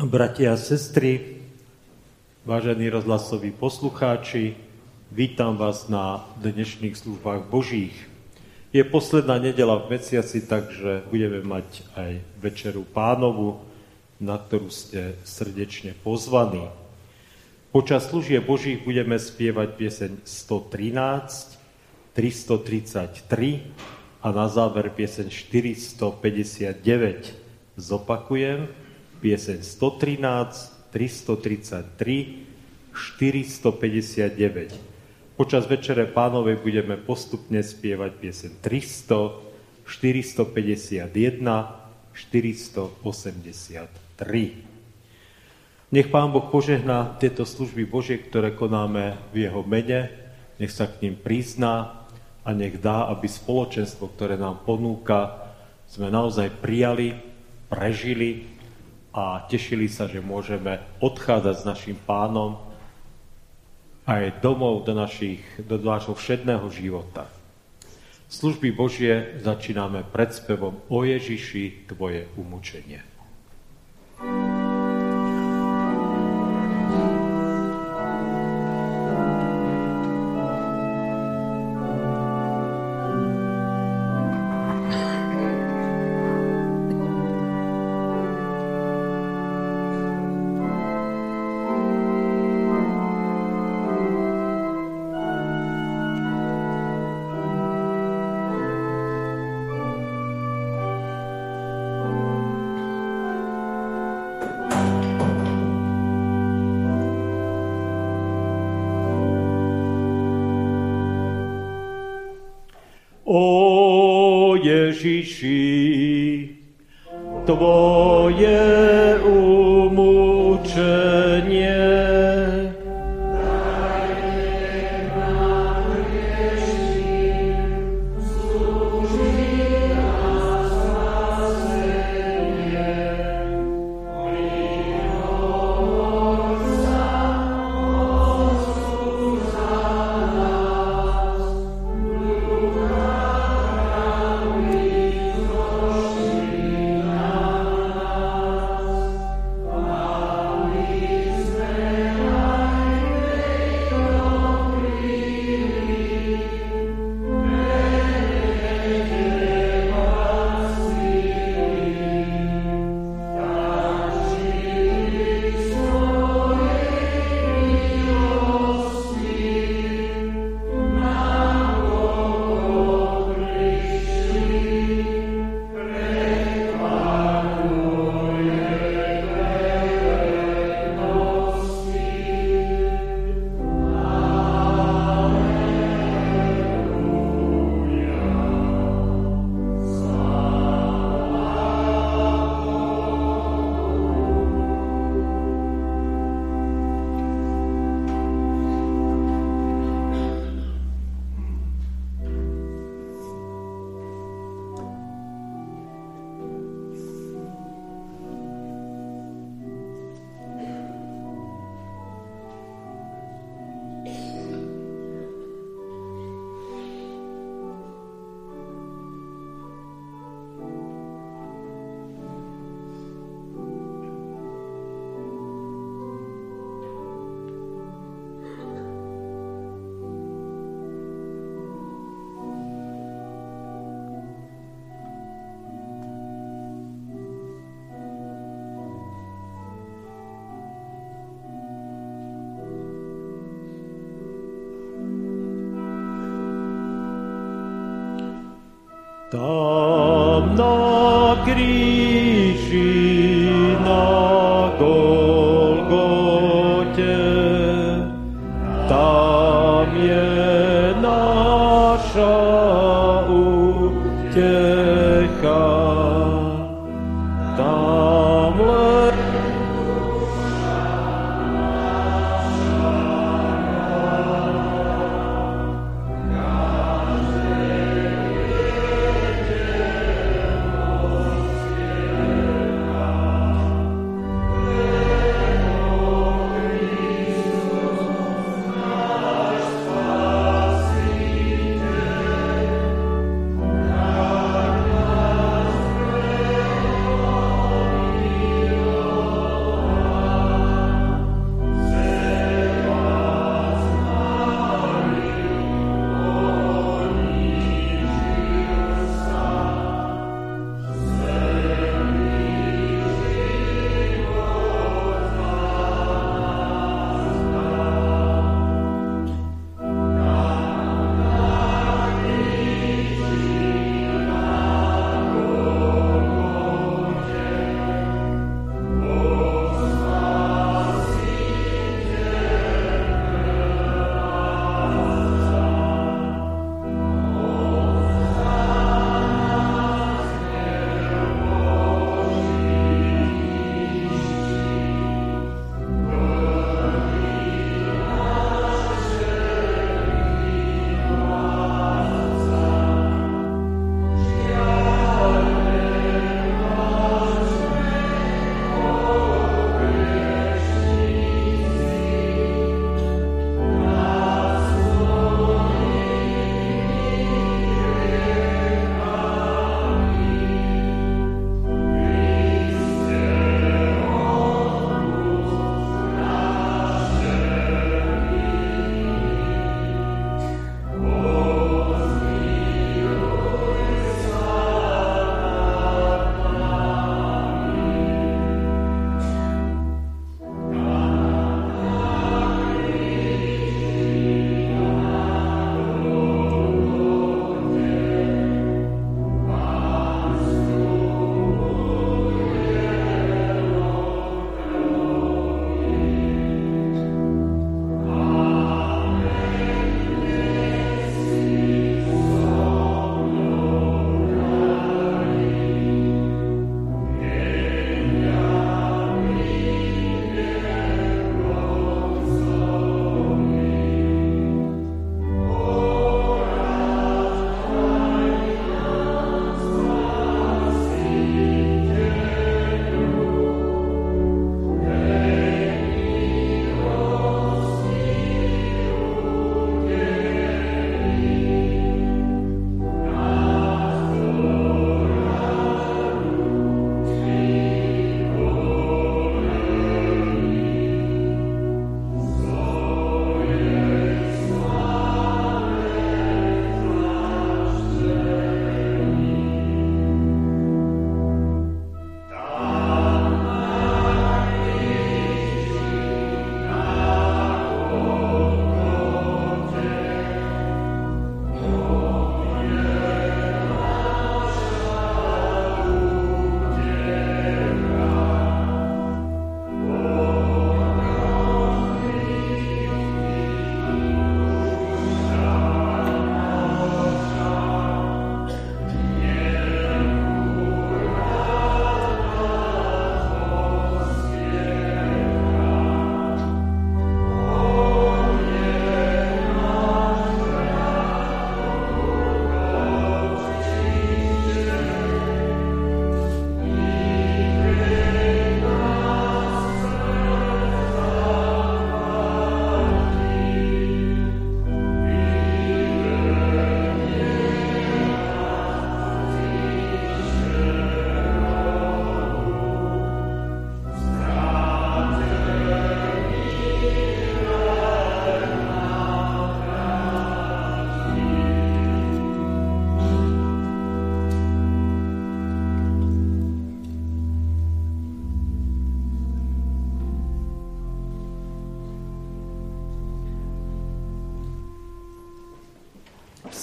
Bratia a sestry, vážení rozhlasoví poslucháči, vítam vás na dnešných službách Božích. Je posledná nedeľa v mesiaci, takže budeme mať aj Večeru Pánovu, na ktorú ste srdečne pozvaní. Počas služieb Božích budeme spievať pieseň 113, 333 a na záver pieseň 459. Zopakujem, pieseň 113, 333, 459. Počas Večere Pánovej budeme postupne spievať pieseň 300, 451, 483. Nech Pán Boh požehná tieto služby Božie, ktoré konáme v Jeho mene, nech sa k ním prizná a nech dá, aby spoločenstvo, ktoré nám ponúka, sme naozaj prijali, prežili a tešili sa, že môžeme odchádzať s našim Pánom aj domov do nášho všedného života. Služby Božie začíname predspevom O Ježiši, tvoje umučenie. O Ježiši, tvoje umučenie. Tam na kríži na Golgote, tam je naša útecha. Tam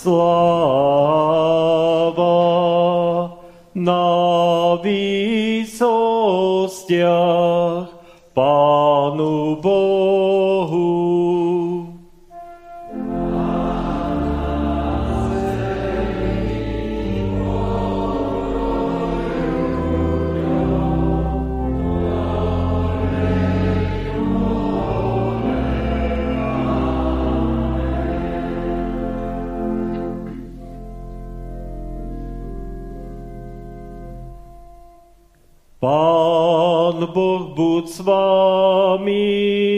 Sláva na výsostiach Pánu Bohu. Pán Boh buď s vámi.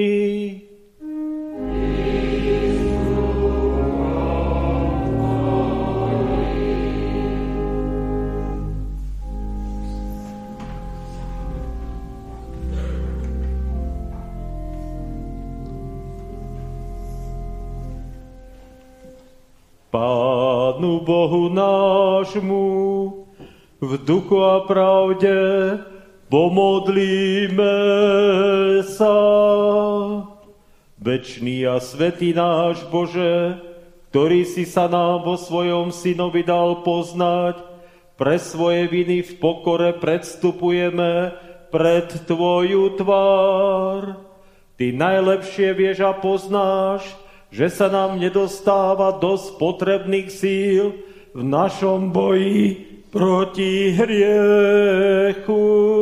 Pánu Bohu nášmu v duchu a pravde pomodlíme sa. Večný a svätý náš Bože, ktorý si sa nám vo svojom Synovi dal poznať, pre svoje viny v pokore predstupujeme pred Tvoju tvár. Ty najlepšie vieš a poznáš, že sa nám nedostáva dosť potrebných síl v našom boji proti hriechu.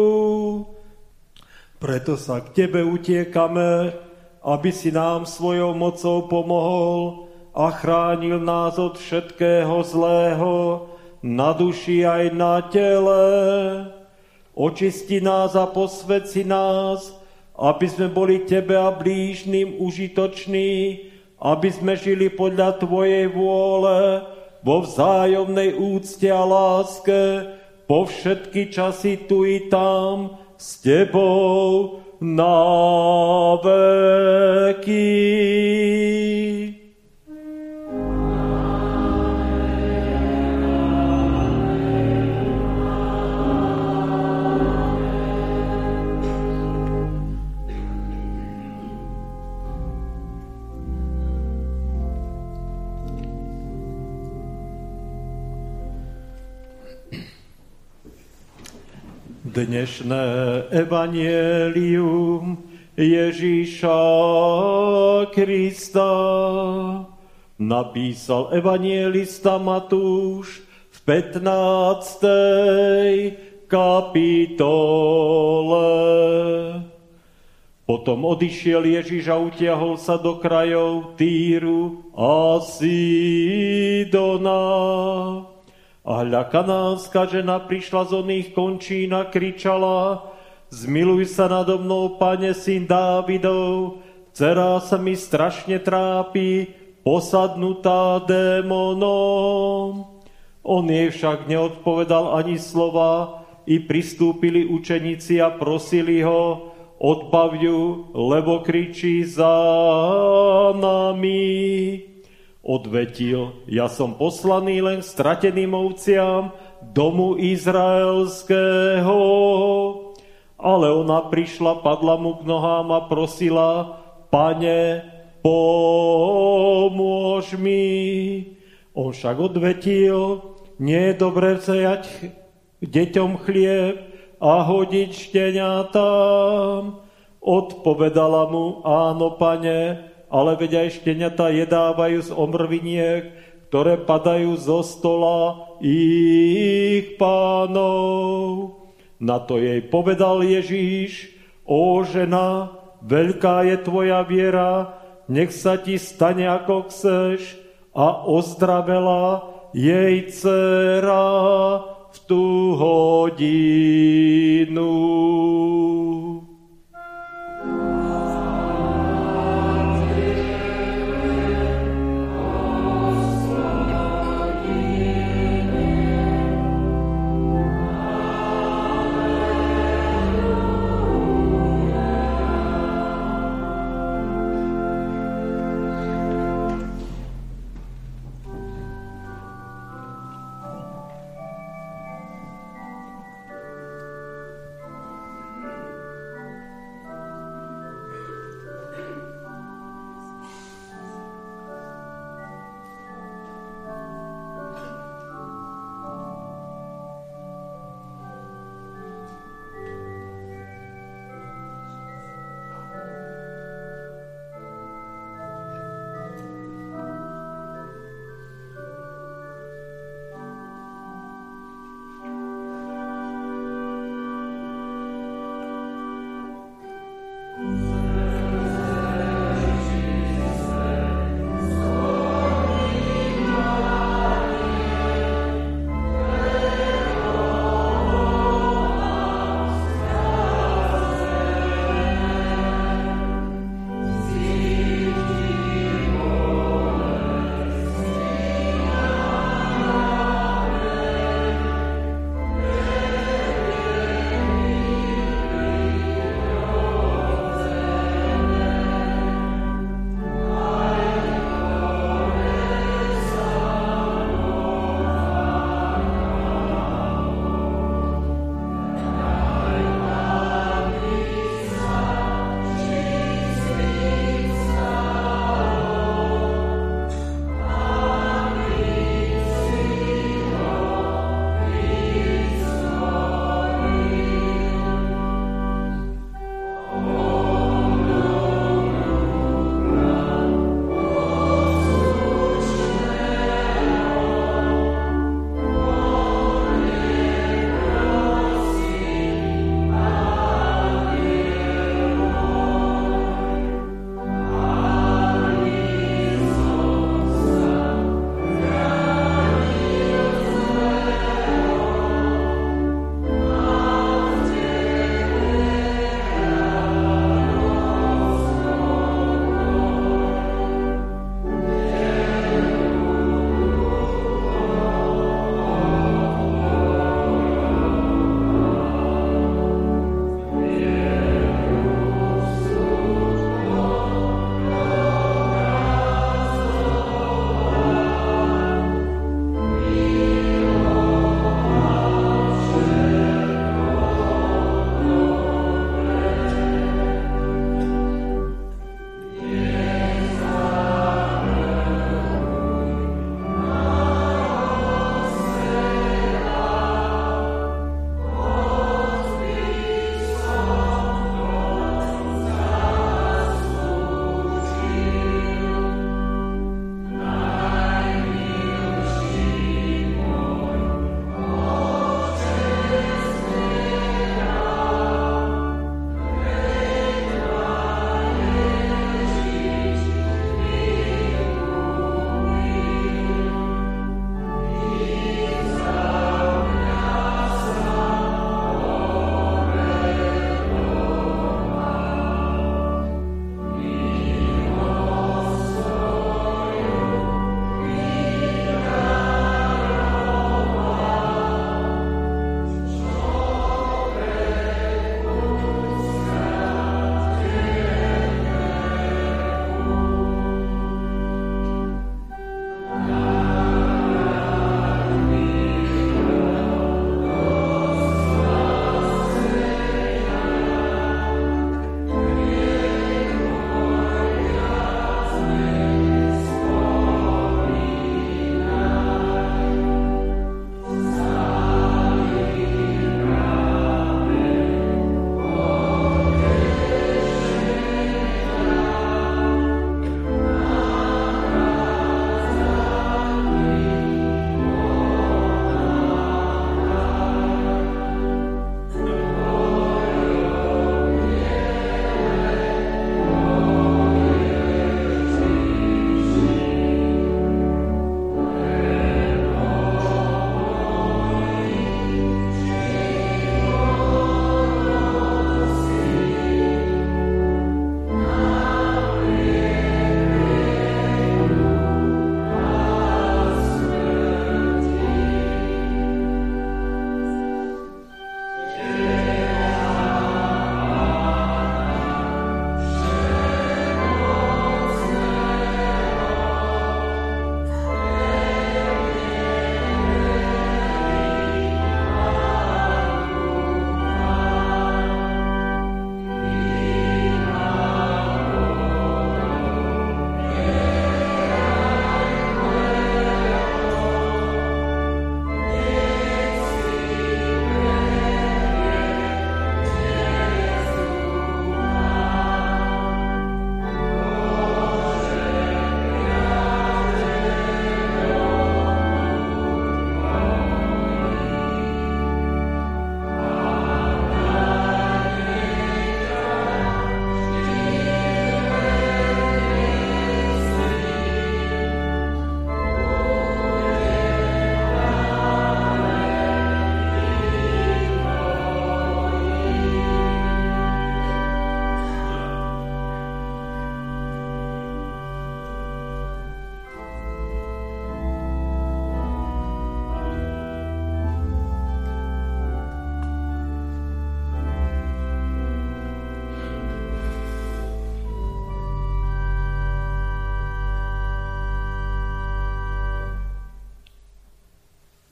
Preto sa k Tebe utiekame, aby si nám svojou mocou pomohol a chránil nás od všetkého zlého, na duši aj na tele. Očisti nás a posväť nás, aby sme boli Tebe a blížnym užitoční, aby sme žili podľa Tvojej vôle, vo vzájomnej úcte a láske, po všetky časy tu i tam, s Tebou na veky. Dnešné evanielium Ježíša Krista napísal evanielista Matúš v 15. kapitole. Potom odišiel Ježíš a utiahol sa do krajov Týru a Sidona. A hľa, kanánska žena prišla z oných končín a kričala: Zmiluj sa nado mnou, Pane, syn Dávidov, dcera sa mi strašne trápi, posadnutá démonom. On jej však neodpovedal ani slova, i pristúpili učeníci a prosili ho: Odbav ju, lebo kričí za nami. Odvetil: Ja som poslaný len strateným ovciam domu izraelského. Ale ona prišla, padla mu k nohám a prosila: Pane, pomôž mi. On však odvetil: Nie je dobré vziať deťom chlieb a hodiť šteniatám. Odpovedala mu: Áno, Pane, ale veď aj šteniatá jedávajú z omrviniek, ktoré padajú zo stola ich pánov. Na to jej povedal Ježíš: Ó žena, veľká je tvoja viera, nech sa ti stane ako chceš. A ozdravela jej dcera v tú hodinu.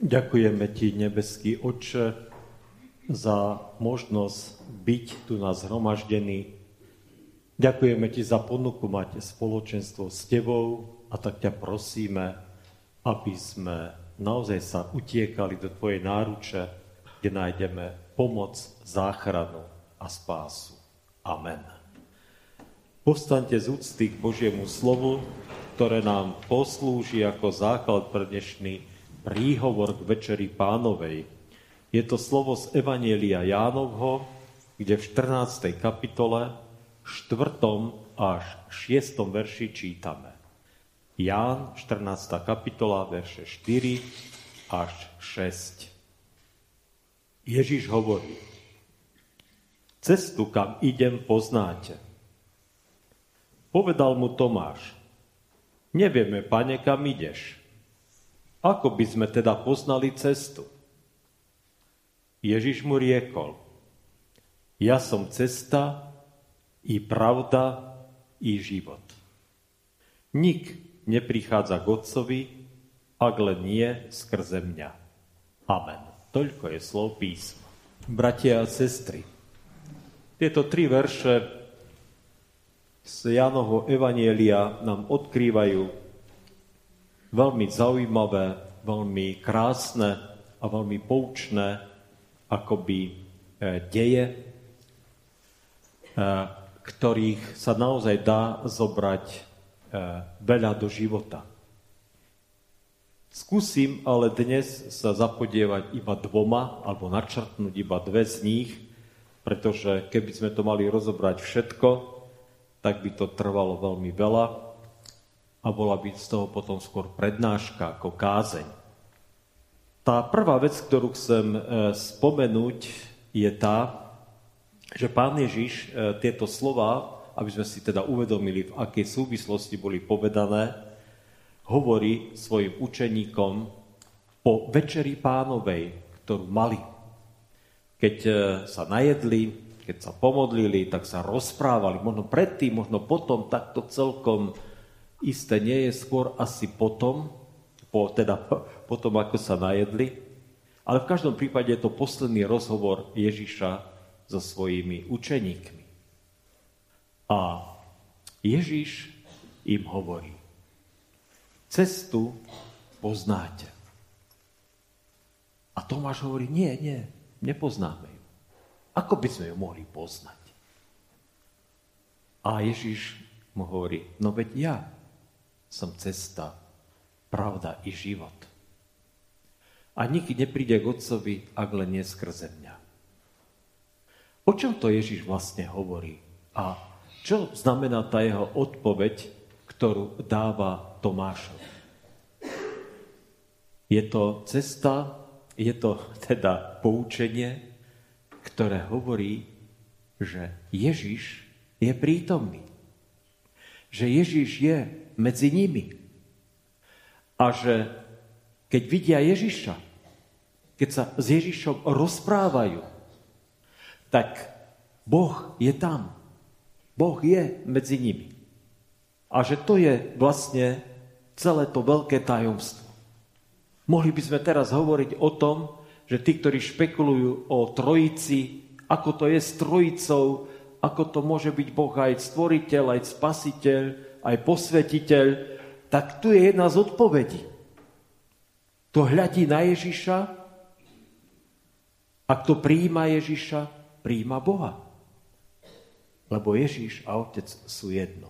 Ďakujeme Ti, nebeský Otče, za možnosť byť tu na zhromaždení. Ďakujeme Ti za ponuku mať spoločenstvo s Tebou a tak ťa prosíme, aby sme naozaj sa utiekali do Tvojej náruče, kde nájdeme pomoc, záchranu a spásu. Amen. Povstaňte z úcty k Božiemu slovu, ktoré nám poslúži ako základ pre dnešný príhovor k Večeri Pánovej. Je to slovo z Evanjelia Jánovho, kde v 14. kapitole, 4. až 6. verši čítame. Ján, 14. kapitola, verše 4 až 6. Ježiš hovorí: Cestu, kam idem, poznáte. Povedal mu Tomáš: Nevieme, Pane, kam ideš. Ako by sme teda poznali cestu? Ježiš mu riekol: Ja som cesta, i pravda, i život. Nik neprichádza k Otcovi, ak len nie skrze mňa. Amen. Toľko je slov písma. Bratia a sestry, tieto 3 verše z Jánovho Evanjelia nám odkrývajú veľmi zaujímavé, veľmi krásne a veľmi poučné akoby deje, ktorých sa naozaj dá zobrať veľa do života. Skúsim ale dnes sa zapodievať iba 2 alebo načrtnúť iba 2 z nich, pretože keby sme to mali rozobrať všetko, tak by to trvalo veľmi veľa a bola by z toho potom skôr prednáška ako kázeň. Tá prvá vec, ktorú chcem spomenúť, je tá, že Pán Ježiš tieto slova, aby sme si teda uvedomili, v akej súvislosti boli povedané, hovorí svojim učeníkom po Večeri Pánovej, ktorú mali. Keď sa najedli, keď sa pomodlili, tak sa rozprávali. Možno predtým, možno potom, takto celkom isté nie je, skôr asi potom, ako sa najedli. Ale v každom prípade je to posledný rozhovor Ježiša so svojimi učeníkmi. A Ježiš im hovorí: Cestu poznáte. A Tomáš hovorí: Nie, nepoznáme ju. Ako by sme ju mohli poznať? A Ježiš mu hovorí: No veď ja som cesta, pravda i život. A nik nepríde k Otcovi, ak len nie skrze mňa. O čom to Ježiš vlastne hovorí? A čo znamená tá jeho odpoveď, ktorú dáva Tomášovi? Je to cesta, je to teda poučenie, ktoré hovorí, že Ježiš je prítomný. Že Ježiš je medzi nimi. A že keď vidia Ježiša, keď sa s Ježišom rozprávajú, tak Boh je tam. Boh je medzi nimi. A že to je vlastne celé to veľké tajomstvo. Mohli by sme teraz hovoriť o tom, že tí, ktorí špekulujú o Trojici, ako to je s Trojicou, ako to môže byť Boh aj stvoriteľ, aj spasiteľ, aj posvetiteľ, tak tu je jedna z odpovedí. Kto hľadí na Ježiša a kto prijíma Ježiša, prijíma Boha. Lebo Ježiš a Otec sú jedno.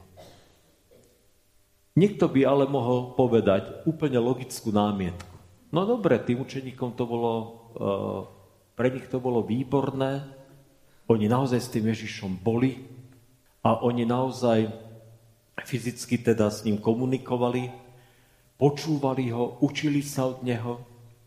Niekto by ale mohol povedať úplne logickú námietku. No dobre, tým učeníkom to bolo, pre nich to bolo výborné, oni naozaj s tým Ježišom boli a oni naozaj fyzicky teda s ním komunikovali, počúvali ho, učili sa od neho.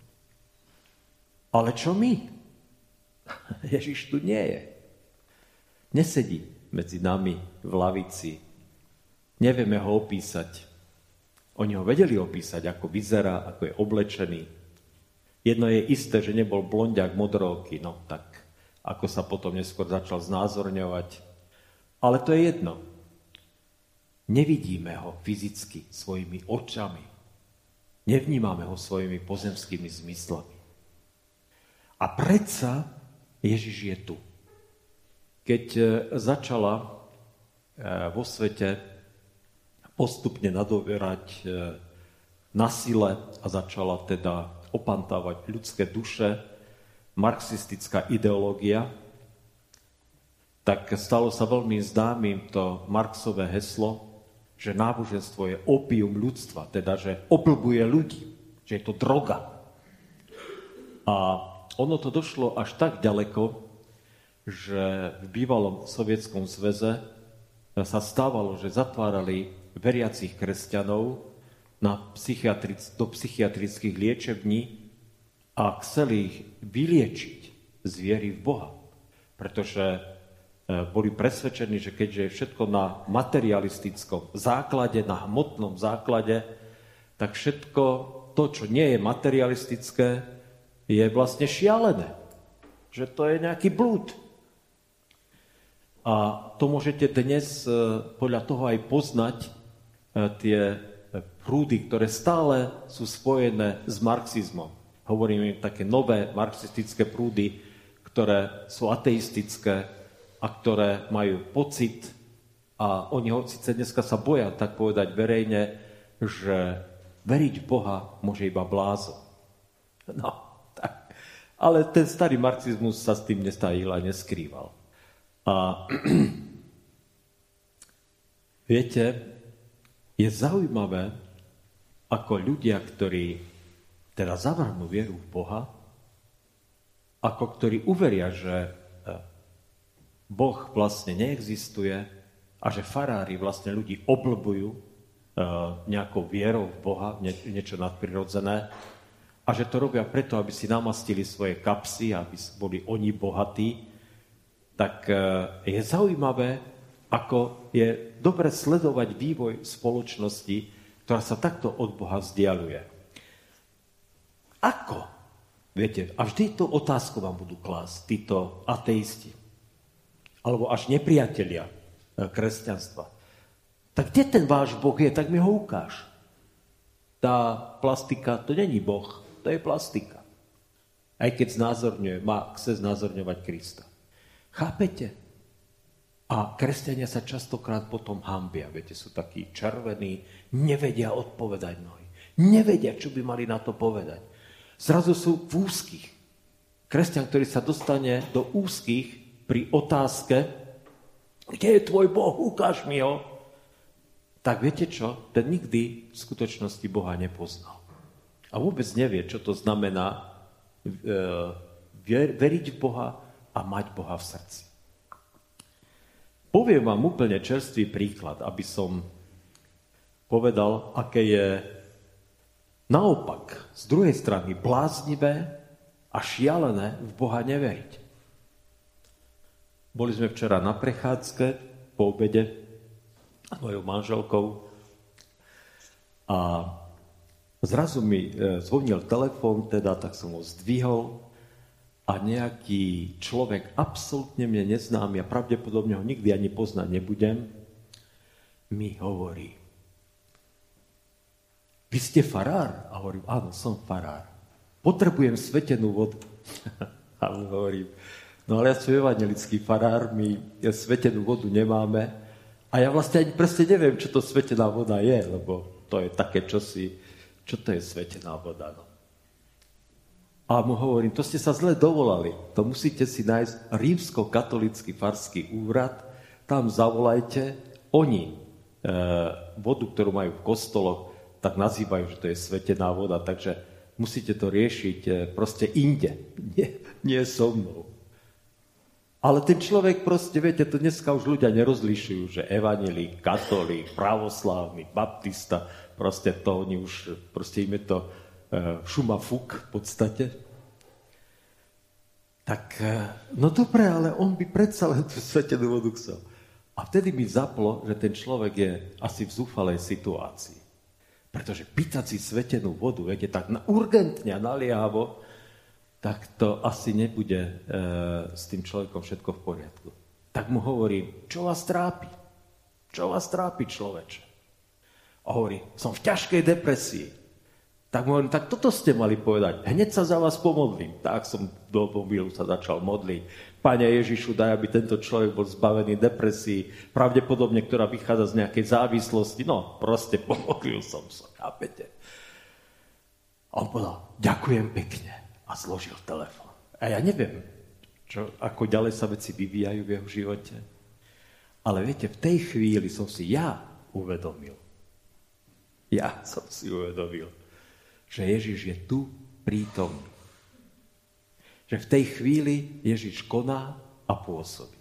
Ale čo my? Ježiš tu nie je. Nesedí medzi nami v lavici. Nevieme ho opísať. Oni ho vedeli opísať, ako vyzerá, ako je oblečený. Jedno je isté, že nebol blondiak modrooký, no tak ako sa potom neskôr začal znázorňovať. Ale to je jedno. Nevidíme ho fyzicky svojimi očami. Nevnímame ho svojimi pozemskými zmyslami. A predsa Ježiš je tu. Keď začala vo svete postupne nadoberať na sile a začala teda opantávať ľudské duše, marxistická ideológia, tak stalo sa veľmi známym to Marxové heslo, že náboženstvo je opium ľudstva, teda že oblbuje ľudí, že je to droga. A ono to došlo až tak ďaleko, že v bývalom Sovietskom zväze sa stávalo, že zatvárali veriacich kresťanov do psychiatrických liečební a chceli ich vyliečiť z viery v Boha. Pretože boli presvedčení, že keďže je všetko na materialistickom základe, na hmotnom základe, tak všetko to, čo nie je materialistické, je vlastne šialené. Že to je nejaký blúd. A to môžete dnes podľa toho aj poznať tie prúdy, ktoré stále sú spojené s marxizmom. Hovoríme také nové marxistické prúdy, ktoré sú ateistické a ktoré majú pocit, a oni ho síce dneska sa boja tak povedať verejne, že veriť v Boha môže iba blázon. No, tak. Ale ten starý marxizmus sa s tým nestajil a neskrýval. A viete, je zaujímavé, ako ľudia, ktorí teda zavrhnú vieru v Boha, ako ktorí uveria, že Boh vlastne neexistuje a že farári vlastne ľudí oblbujú nejakou vierou v Boha, niečo nadprirodzené, a že to robia preto, aby si namastili svoje kapsy, aby boli oni bohatí, tak je zaujímavé, ako je dobre sledovať vývoj spoločnosti, ktorá sa takto od Boha vzdialuje. Ako? Viete, a vždy tú otázku vám budú klásť títo ateisti, alebo až nepriatelia kresťanstva. Tak kde ten váš Boh je, tak mi ho ukáž. Tá plastika, to není Boh, to je plastika. Aj keď chce znázorňovať Krista. Chápete? A kresťania sa častokrát potom hanbia. Viete, sú takí červení, nevedia odpovedať mnohí. Nevedia, čo by mali na to povedať. Zrazu sú v úzkých. Kresťan, ktorý sa dostane do úzkých pri otázke, kde je tvoj Boh, ukáž mi ho, tak viete čo? Ten nikdy v skutočnosti Boha nepoznal. A vôbec nevie, čo to znamená veriť v Boha a mať Boha v srdci. Poviem vám úplne čerstvý príklad, aby som povedal, aké je naopak z druhej strany bláznivé a šialené v Boha neveriť. Boli sme včera na prechádzke po obede s mojou manželkou a zrazu mi zvonil telefón, tak som ho zdvihol a nejaký človek absolútne mne neznámy a pravdepodobne ho nikdy ani poznať nebudem, mi hovorí: vy ste farár? A hovorím, áno, som farár. Potrebujem svetenú vodu. A hovorím, no ale ja som evanjelický farár, my svetenú vodu nemáme a ja vlastne ani presne neviem, čo to svetená voda je, lebo to je také čosi, čo to je svetená voda, no. A mu hovorím, to ste sa zle dovolali, to musíte si nájsť rímsko-katolícky farský úrad, tam zavolajte, oni vodu, ktorú majú v kostoloch, tak nazývajú, že to je svetená voda, takže musíte to riešiť proste inde, nie so mnou. Ale ten človek proste, viete, to dneska už ľudia nerozlišujú, že evanjelík, katolík, pravoslávny, baptista, proste to oni už, proste im je to šuma fuk v podstate. Tak, no dobre, ale on by predsa len tú svetenú vodu chcel. A vtedy mi zaplo, že ten človek je asi v zúfalej situácii. Pretože pýtať si svetenú vodu, viete, tak urgentne a naliehavo, tak to asi nebude s tým človekom všetko v poriadku. Tak mu hovorím, čo vás trápi? Čo vás trápi, človeče? A hovorí, som v ťažkej depresii. Tak mu hovorím, tak toto ste mali povedať. Hneď sa za vás pomodlím. Tak som do mobilu sa začal modliť. Pane Ježišu, daj, aby tento človek bol zbavený depresí, pravdepodobne, ktorá vychádza z nejakej závislosti. No, proste pomodlil som sa, chápete. A on povedal, ďakujem pekne. A zložil telefón. A ja neviem, ako ďalej sa veci vyvíjajú v jeho živote. Ale viete, v tej chvíli som si uvedomil, že Ježiš je tu prítomný. Že v tej chvíli Ježiš koná a pôsobí.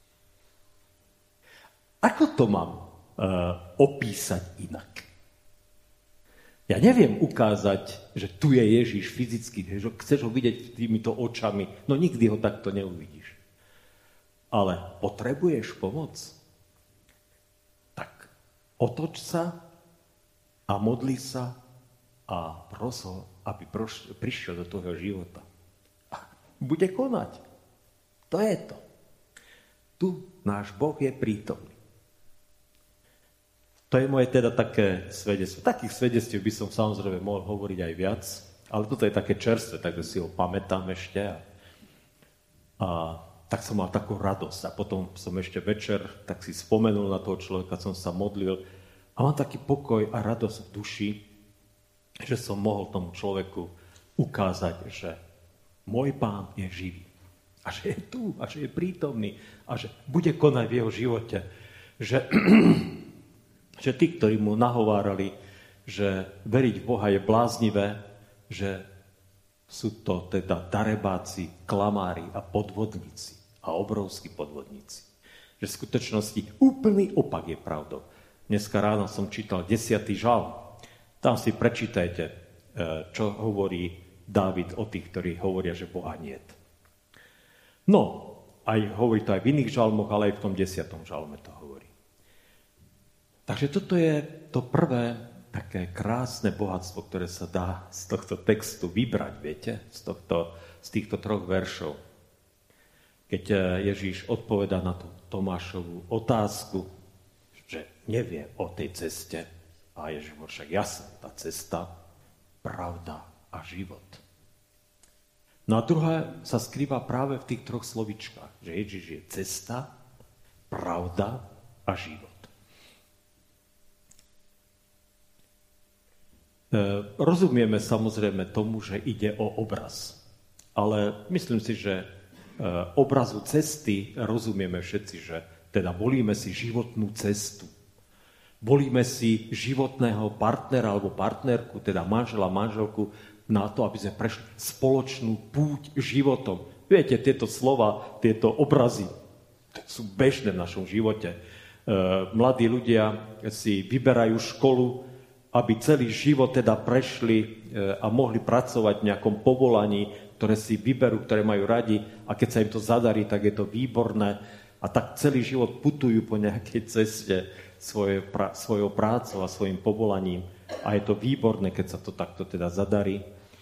Ako to mám opísať inak? Ja neviem ukázať, že tu je Ježiš fyzicky, že chceš ho vidieť týmito očami, no nikdy ho takto neuvidíš. Ale potrebuješ pomoc? Tak otoč sa a modli sa a pros ho, aby prišiel do tvojho života. A bude konať. To je to. Tu náš Boh je prítomný. To je moje teda také svedectvo. Takých svedectiev by som samozrejme mohol hovoriť aj viac, ale toto je také čerstvé, takže si ho pamätám ešte. A tak som mal takú radosť. A potom som ešte večer tak si spomenul na toho človeka, som sa modlil a mám taký pokoj a radosť v duši, že som mohol tomu človeku ukázať, že môj Pán je živý. A že je tu, a že je prítomný, a že bude konať v jeho živote. Že tí, ktorí mu nahovárali, že veriť v Boha je bláznivé, že sú to teda darebáci, klamári a podvodníci. A obrovskí podvodníci. Že v skutočnosti úplný opak je pravdou. Dneska ráno som čítal 10. žalm. Tam si prečítajte, čo hovorí Dávid o tých, ktorí hovoria, že Boha niet. No, hovorí to aj v iných žalmoch, ale aj v tom 10. žalme to hovorí. Takže toto je to prvé také krásne bohatstvo, ktoré sa dá z tohto textu vybrať, viete, z týchto 3 veršov. Keď Ježíš odpovedá na tú Tomášovú otázku, že nevie o tej ceste, a Ježíš hovorí, však jasná, tá cesta, pravda a život. No a druhé sa skrýva práve v tých 3 slovičkách, že Ježíš je cesta, pravda a život. Rozumieme samozrejme tomu, že ide o obraz. Ale myslím si, že obrazu cesty rozumieme všetci, že teda volíme si životnú cestu. Volíme si životného partnera alebo partnerku, teda manžela, manželku, na to, aby sme prešli spoločnú púť životom. Viete, tieto slova, tieto obrazy sú bežné v našom živote. Mladí ľudia si vyberajú školu, aby celý život teda prešli a mohli pracovať v nejakom povolaní, ktoré si vyberú, ktoré majú radi, a keď sa im to zadarí, tak je to výborné. A tak celý život putujú po nejakej ceste svojou prácou a svojim povolaním. A je to výborné, keď sa to takto teda zadarí.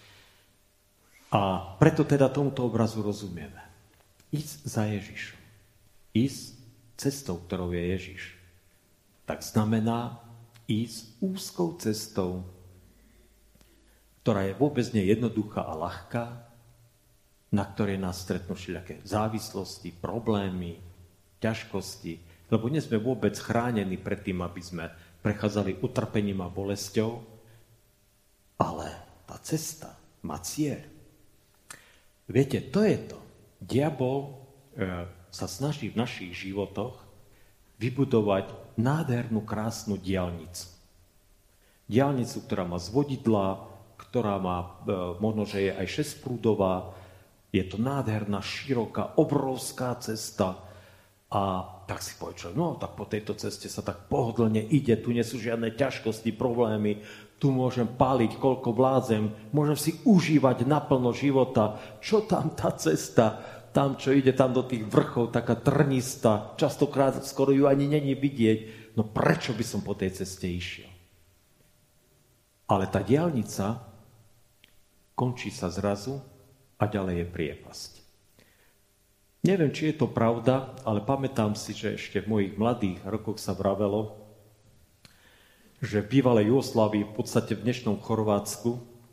A preto teda tomuto obrazu rozumieme. Ísť za Ježišom. Ísť cestou, ktorou je Ježiš. Tak znamená ísť úzkou cestou, ktorá je vôbec nejednoduchá a ľahká, na ktorej nás stretnú všelijaké závislosti, problémy, ťažkosti, lebo nie sme vôbec chránení pred tým, aby sme prechádzali utrpením a bolesťou, ale tá cesta má cieľ. Viete, to je to. Diabol sa snaží v našich životoch vybudovať nádhernú, krásnu diaľnicu. Diaľnicu, ktorá má zvodidlá, ktorá má, možno, že je aj 6-prúdová, je to nádherná, široká, obrovská cesta. A tak si povie človek, no tak po tejto ceste sa tak pohodlne ide, tu nie sú žiadne ťažkosti, problémy, tu môžem páliť, koľko vládzem, môžem si užívať naplno života. Čo tam tá cesta, tam, čo ide tam do tých vrchov, taká trnistá, častokrát skoro ju ani není vidieť. No prečo by som po tej ceste išiel? Ale tá diaľnica končí sa zrazu a ďalej je priepasť. Neviem, či je to pravda, ale pamätám si, že ešte v mojich mladých rokoch sa vravelo, že v bývalej Jugoslávii, v podstate v dnešnom Chorvátsku,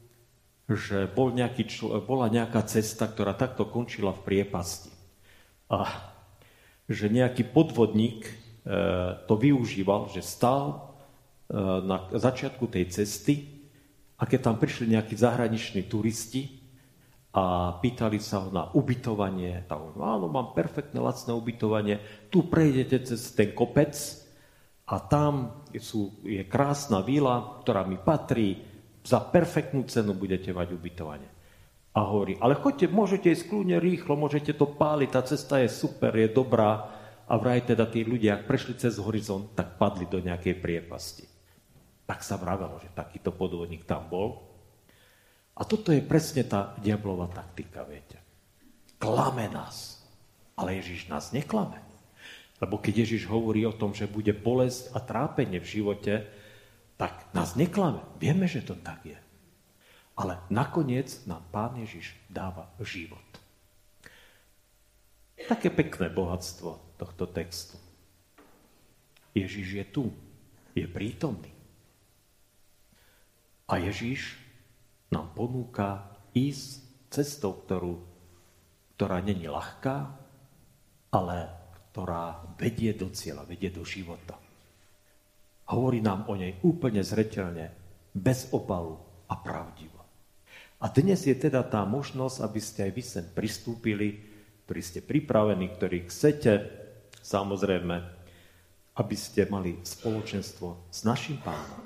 že bola nejaká cesta, ktorá takto končila v priepasti. A že nejaký podvodník to využíval, že stál na začiatku tej cesty a keď tam prišli nejakí zahraniční turisti a pýtali sa ho na ubytovanie, tak áno, mám perfektné lacné ubytovanie, tu prejdete cez ten kopec a tam je krásna vila, ktorá mi patrí, za perfektnú cenu budete mať ubytovanie. A hovorí, ale choďte, môžete ísť kľudne rýchlo, môžete to páliť, tá cesta je super, je dobrá. A vraj teda tí ľudia, ak prešli cez horizont, tak padli do nejakej priepasti. Tak sa vravelo, že takýto podvodník tam bol. A toto je presne tá diablová taktika, viete. Klame nás. Ale Ježiš nás neklame. Lebo keď Ježiš hovorí o tom, že bude bolesť a trápenie v živote, tak nás neklame. Vieme, že to tak je. Ale nakoniec nám Pán Ježiš dáva život. Také pekné bohatstvo tohto textu. Ježiš je tu. Je prítomný. A Ježiš nám ponúka ísť cestou, ktorá není ľahká, ale ktorá vedie do cieľa, vedie do života. Hovorí nám o nej úplne zreteľne, bez obalu a pravdivo. A dnes je teda tá možnosť, aby ste aj vy sem pristúpili, ktorí ste pripravení, ktorí chcete, samozrejme, aby ste mali spoločenstvo s našim Pánom.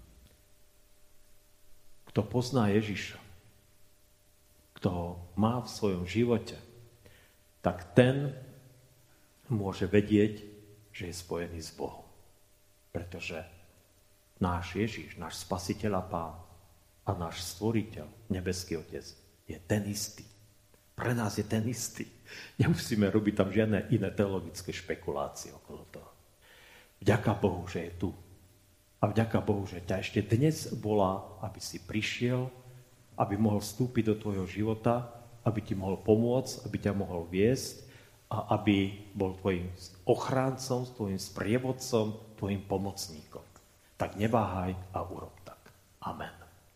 Kto pozná Ježiša, kto ho má v svojom živote, tak ten môže vedieť, že je spojený s Bohom. Pretože náš Ježiš, náš Spasiteľ a Pán a náš Stvoriteľ, nebeský Otec, je ten istý. Pre nás je ten istý. Nemusíme robiť tam žiadne iné teologické špekulácie okolo toho. Vďaka Bohu, že je tu. A vďaka Bohu, že ťa ešte dnes volá, aby si prišiel, aby mohol vstúpiť do tvojho života, aby ti mohol pomôcť, aby ťa mohol viesť a aby bol tvojim ochráncom, tvojim sprievodcom, tvojim pomocníkom. Tak neváhaj a urob tak. Amen.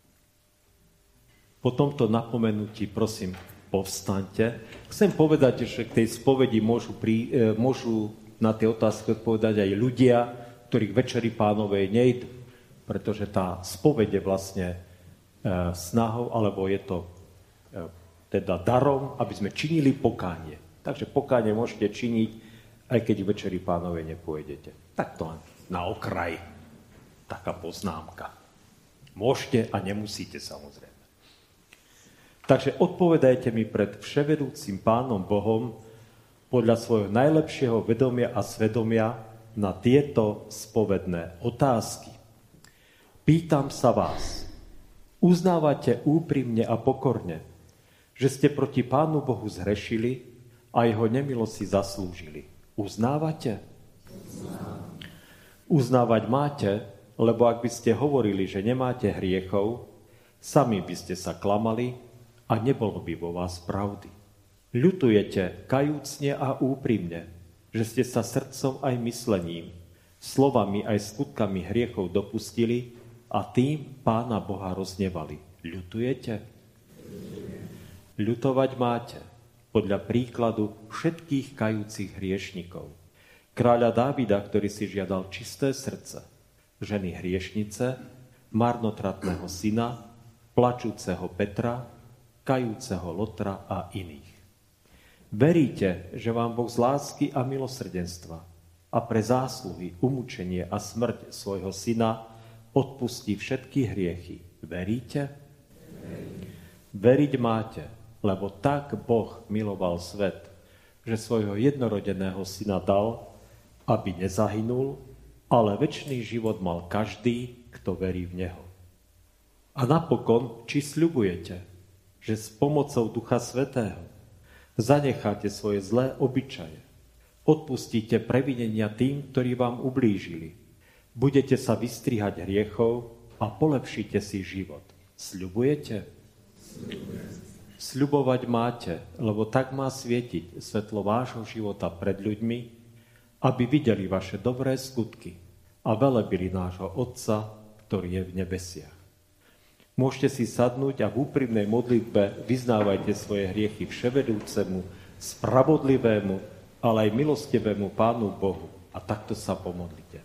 Po tomto napomenutí, prosím, povstaňte. Chcem povedať, že k tej spovedi môžu na tie otázky odpovedať aj ľudia, ktorí k Večeri Pánovej nejdú. Pretože tá spoveď je vlastne snahou, alebo je to teda darom, aby sme činili pokánie. Takže pokánie môžete činiť, aj keď k Večeri Pánovej nepôjdete. Tak to na okraj. Taká poznámka. Môžete a nemusíte, samozrejme. Takže odpovedajte mi pred vševedúcim Pánom Bohom podľa svojho najlepšieho vedomia a svedomia na tieto spovedné otázky. Pýtam sa vás, uznávate úprimne a pokorne, že ste proti Pánu Bohu zhrešili a jeho nemilosť si zaslúžili. Uznávate? Uznávať máte, lebo ak by ste hovorili, že nemáte hriechov, sami by ste sa klamali a nebolo by vo vás pravdy. Ľutujete kajúcne a úprimne, že ste sa srdcom aj myslením, slovami aj skutkami hriechov dopustili a tým Pána Boha roznevali. Ľutujete? Ľutovať máte podľa príkladu všetkých kajúcich hriešnikov. Kráľa Dávida, ktorý si žiadal čisté srdce, ženy hriešnice, marnotratného syna, plačúceho Petra, kajúceho Lotra a iných. Veríte, že vám Boh z lásky a milosrdenstva a pre zásluhy, umúčenie a smrť svojho syna odpustí všetky hriechy. Veríte? Veriť máte, lebo tak Boh miloval svet, že svojho jednorodeného syna dal, aby nezahynul, ale večný život mal každý, kto verí v neho. A napokon, či sľubujete, že s pomocou Ducha Svätého zanecháte svoje zlé obyčaje, odpustíte previnenia tým, ktorí vám ublížili, budete sa vystrihať hriechov a polepšíte si život. Sľubujete? Sľubovať máte, lebo tak má svietiť svetlo vášho života pred ľuďmi, aby videli vaše dobré skutky a velebili nášho Otca, ktorý je v nebesiach. Môžete si sadnúť a v úprimnej modlitbe vyznávajte svoje hriechy vševedúcemu, spravodlivému, ale aj milostivému Pánu Bohu. A takto sa pomodlite.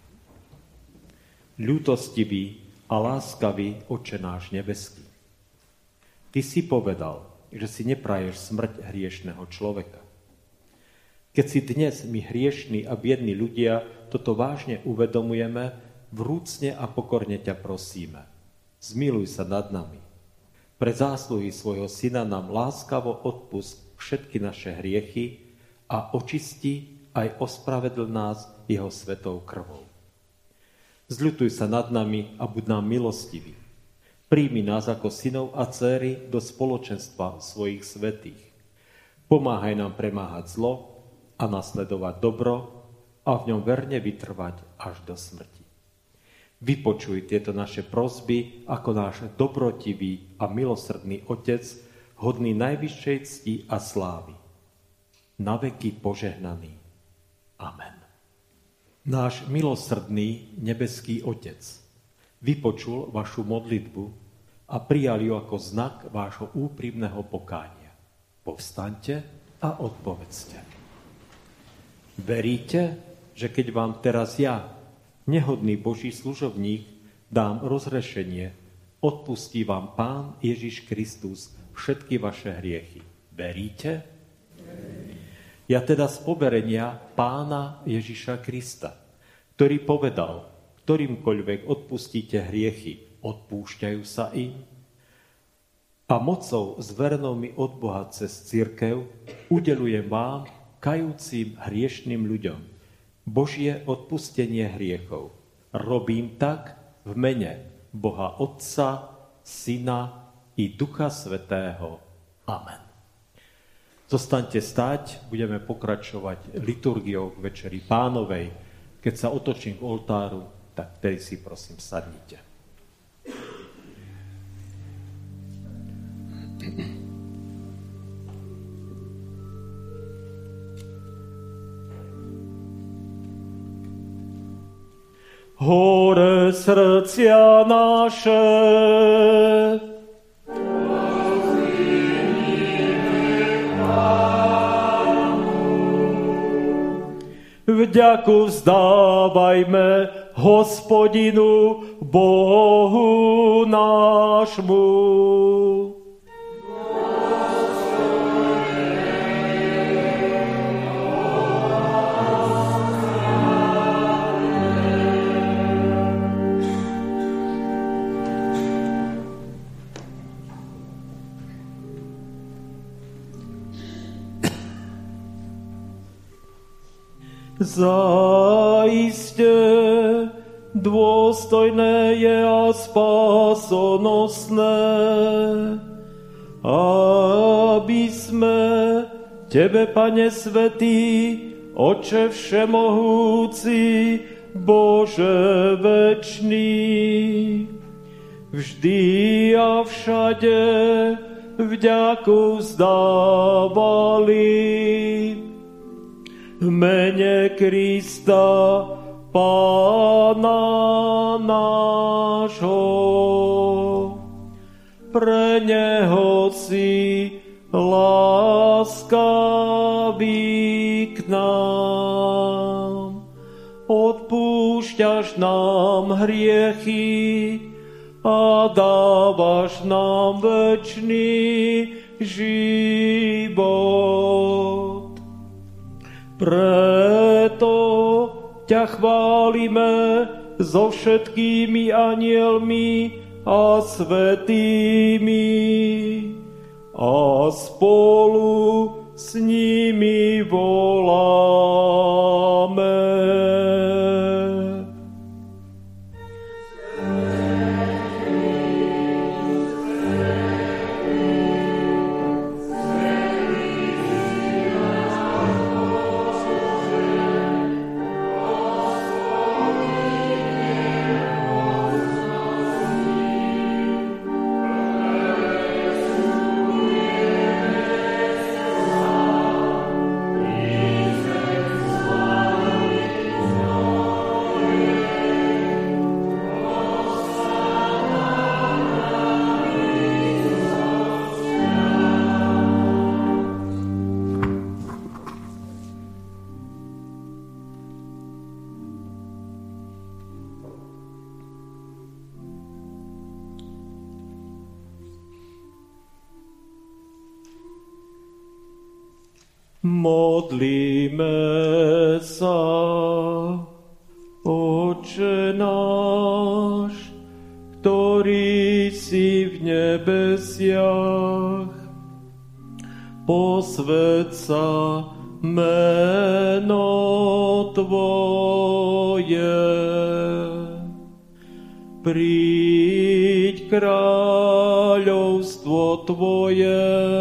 Ľútostivý a láskavý Otče náš nebeský, Ty si povedal, že si nepraješ smrť hriešného človeka. Keď si dnes my hriešní a biední ľudia toto vážne uvedomujeme, vrúcne a pokorne ťa prosíme. Zmiluj sa nad nami. Pre zásluhy svojho Syna nám láskavo odpusť všetky naše hriechy a očisti aj ospravedl nás jeho svetou krvou. Zľutuj sa nad nami a buď nám milostivý. Príjmi nás ako synov a dcéry do spoločenstva svojich svätých. Pomáhaj nám premáhať zlo a nasledovať dobro a v ňom verne vytrvať až do smrti. Vypočuj tieto naše prosby ako náš dobrotivý a milosrdný Otec, hodný najvyššej cti a slávy. Na veky požehnaný. Amen. Náš milosrdný nebeský Otec vypočul vašu modlitbu a prijal ju ako znak vášho úprimného pokánia. Povstaňte a odpovedzte. Veríte, že keď vám teraz ja, nehodný Boží služobník, dám rozrešenie, odpustí vám Pán Ježiš Kristus všetky vaše hriechy. Veríte? Ja teda z poverenia Pána Ježiša Krista, ktorý povedal, ktorýmkoľvek odpustíte hriechy, odpúšťajú sa im, a mocou zverenou mi od Boha cez cirkev udelujem vám, kajúcim hriešným ľuďom, Božie odpustenie hriechov. Robím tak v mene Boha Otca, Syna i Ducha Svätého. Amen. Zostaňte stáť, budeme pokračovať liturgiou k Večeri Pánovej. Keď sa otočím k oltáru, tak vtedy si prosím sadnite. Hore srdcia naše, vďaku vzdávajme Hospodinu Bohu nášmu. Zaiste dôstojné je a spásonosné, aby sme Tebe, Pane Svätý, Oče všemohúci, Bože večný, vždy a všade vďaku vzdávali v mene Krista, Pána nášho. Pre neho si láskavý k nám. Odpúšťaš nám hriechy a dávaš nám večný život. Preto ťa chválime so všetkými anielmi a svätými a spolu s nimi voláme. Modlíme sa. Otče náš, ktorý si v nebesiach, posväť sa meno Tvoje. Príď kráľovstvo Tvoje,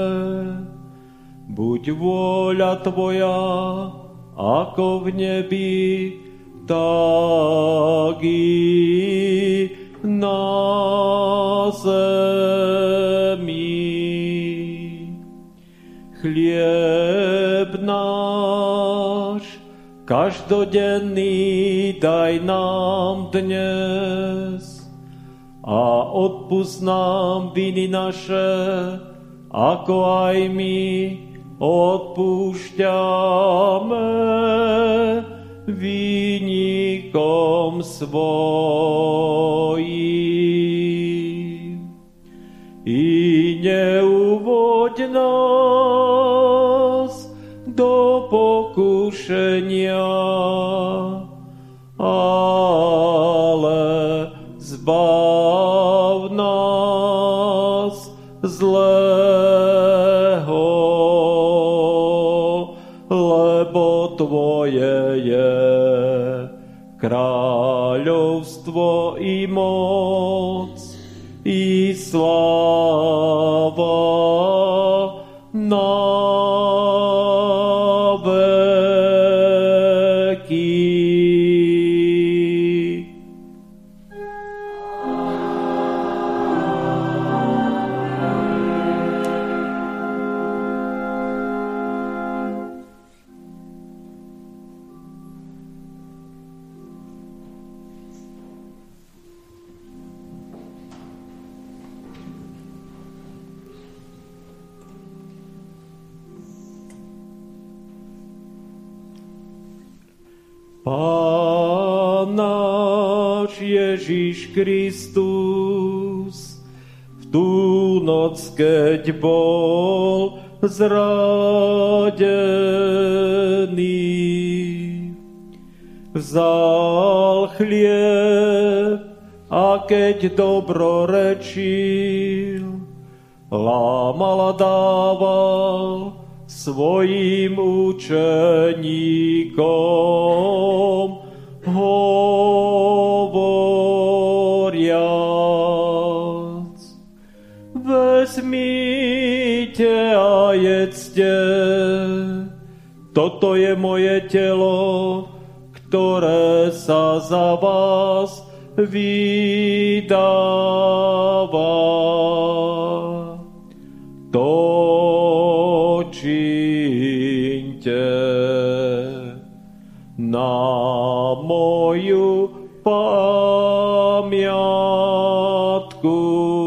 buď vôľa Tvoja, ako v nebi, tak i na zemi. Chlieb náš každodenný daj nám dnes a odpusť nám viny naše, ako aj my odpúšťame vinníkom svojím. I neuvoď nás do pokušenia, ale zbav nás zlého, lebo Tvoje je kráľovstvo i moc i sláva na veky. Pán náš Ježiš Kristus v tú noc, keď bol zradený, vzal chlieb a keď dobrorečil, lámal a dával svojim učeníkom, hovoriac: vezmite a jedzte, toto je moje telo, ktoré sa za vás vydáva. To čiňte na moju pamiatku.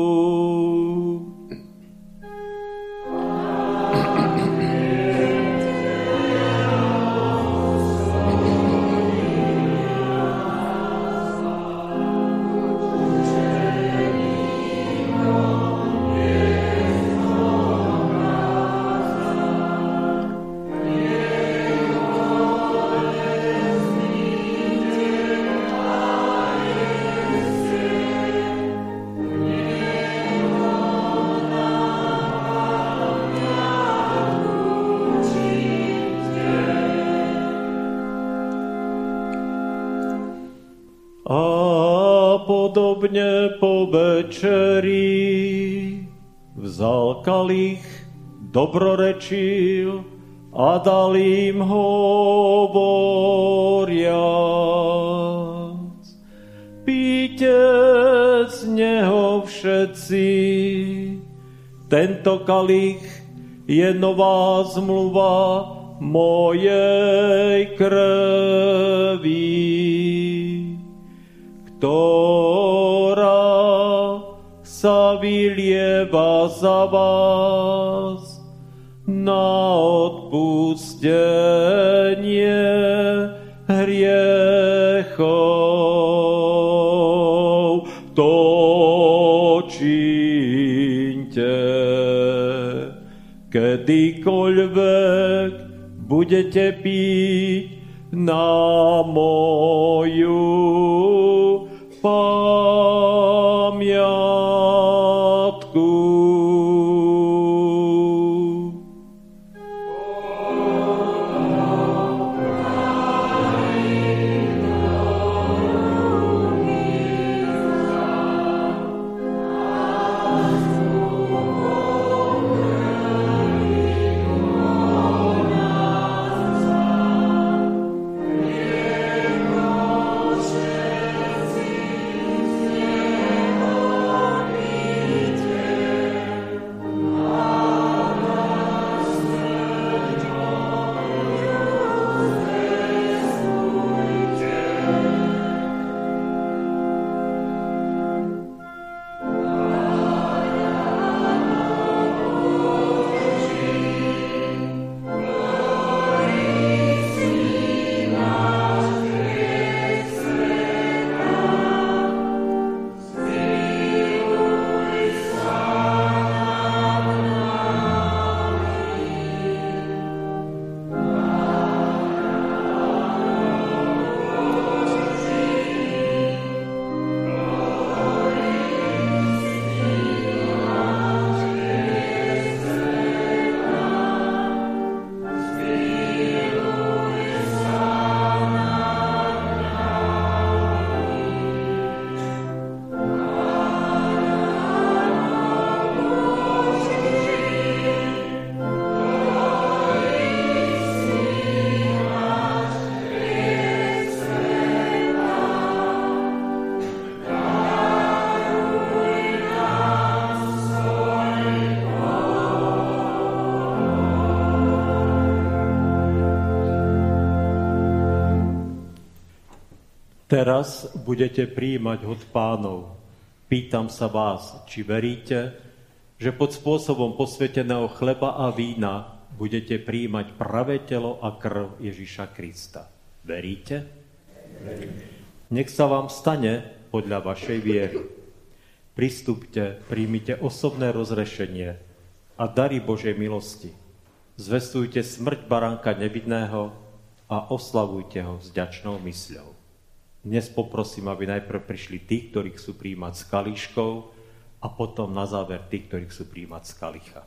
Podobne po večeri vzal kalich, dobrorečil a dal im hovoriac: píte z neho všetci, tento kalich je nová zmluva mojej krvi, ktorá sa vylieva za vás na odpustenie hriechov. To čiňte, kedykoľvek budete piť na moju pamiatku. Teraz budete prijímať od Pánov. Pýtam sa vás, či veríte, že pod spôsobom posväteného chleba a vína budete prijímať pravé telo a krv Ježiša Krista. Veríte? Nech sa vám stane podľa vašej viery. Pristúpte, príjmite osobné rozrešenie a dary Božej milosti. Zvestujte smrť baránka nevinného a oslavujte ho s vďačnou mysľou. Dnes poprosím, aby najprv prišli tí, ktorí chcú prijímať s kalíškou a potom na záver tí, ktorí chcú prijímať z kalicha.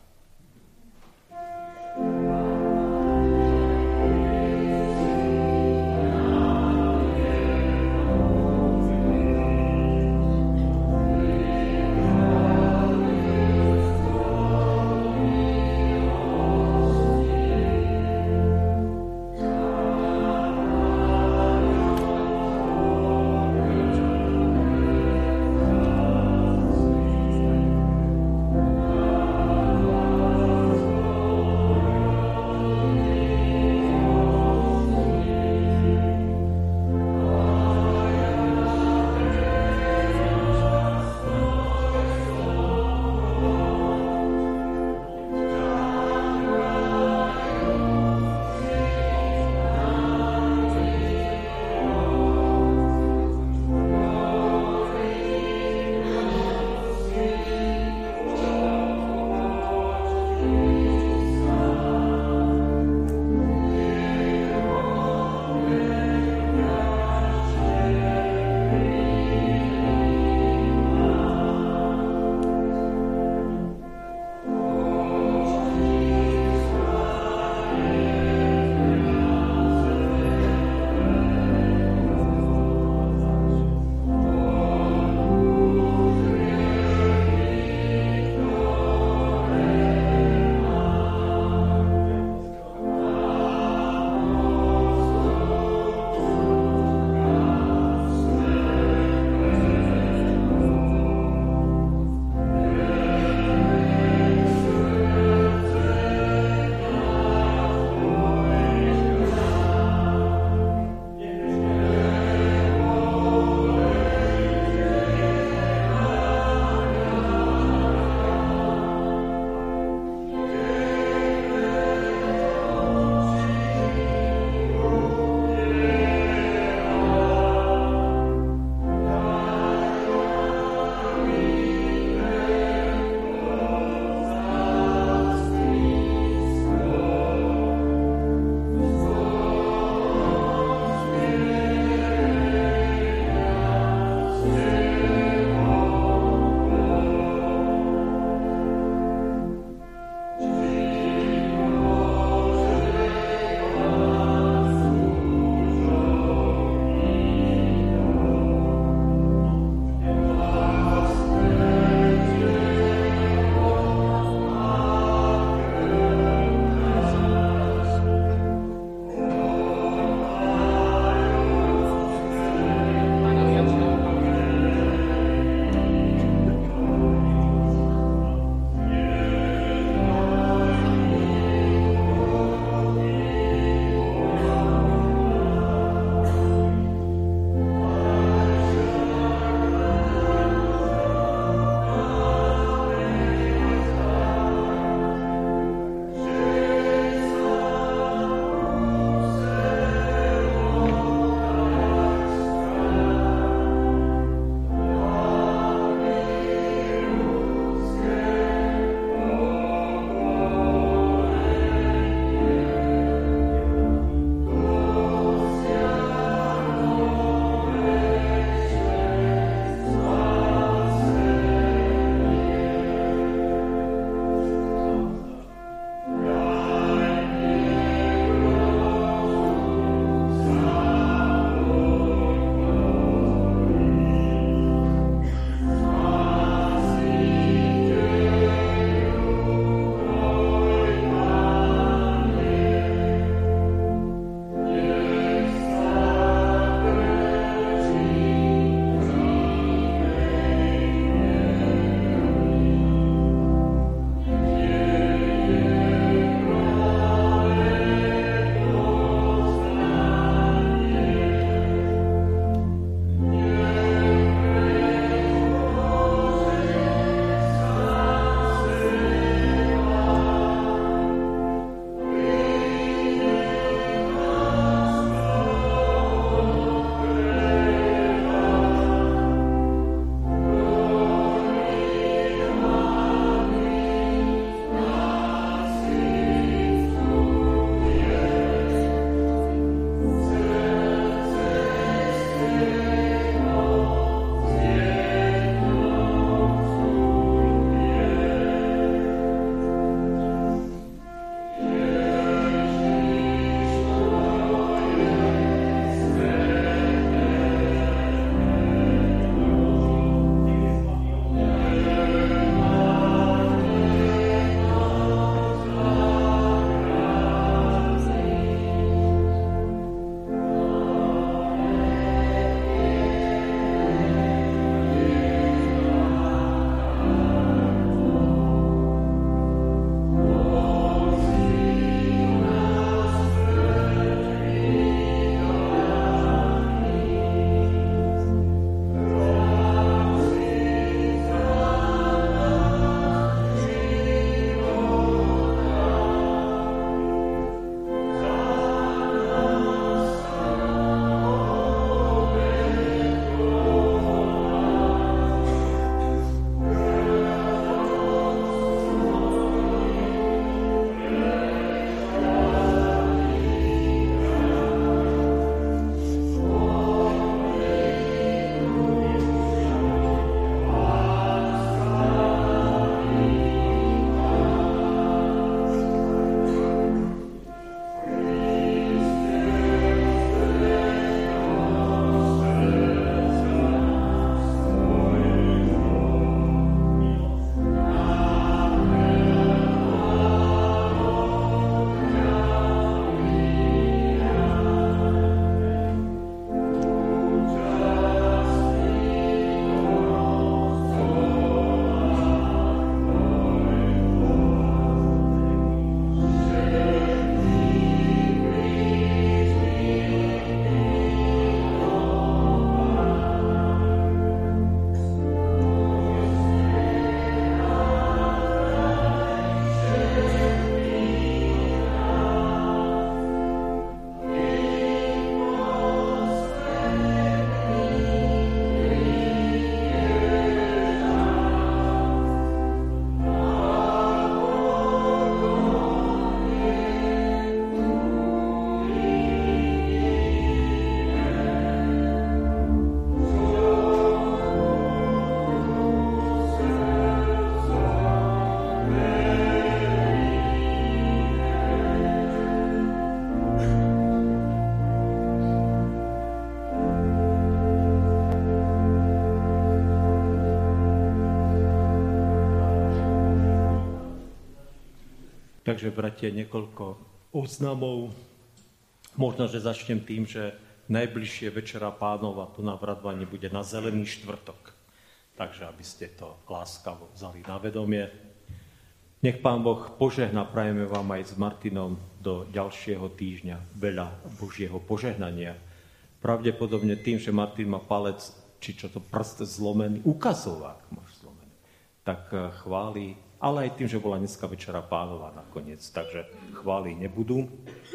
Takže, bratia, niekoľko oznamov. Možno, že začnem tým, že najbližšie Večera Pánova tu na Vradvani bude na Zelený štvrtok. Takže, aby ste to láskavo vzali na vedomie. Nech Pán Boh požehná, prajeme vám aj s Martinom do ďalšieho týždňa veľa Božieho požehnania. Pravdepodobne tým, že Martin má palec, či čo to prst zlomený, ukazovák máš zlomený, tak chváli, ale aj tým, že bola dneska Večera Pánova nakoniec, takže chvály nebudú.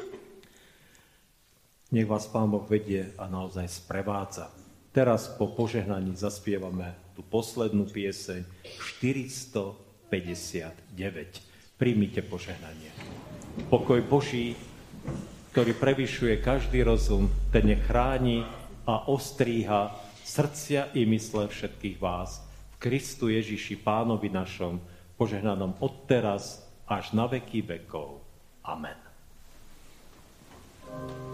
Nech vás Pán Boh vedie a naozaj sprevádza. Teraz po požehnaní zaspievame tú poslednú pieseň 459. Príjmite požehnanie. Pokoj Boží, ktorý prevyšuje každý rozum, ten nech chráni a ostríha srdcia i mysle všetkých vás v Kristu Ježiši Pánovi našom, požehnanom odteraz až na veky vekov. Amen.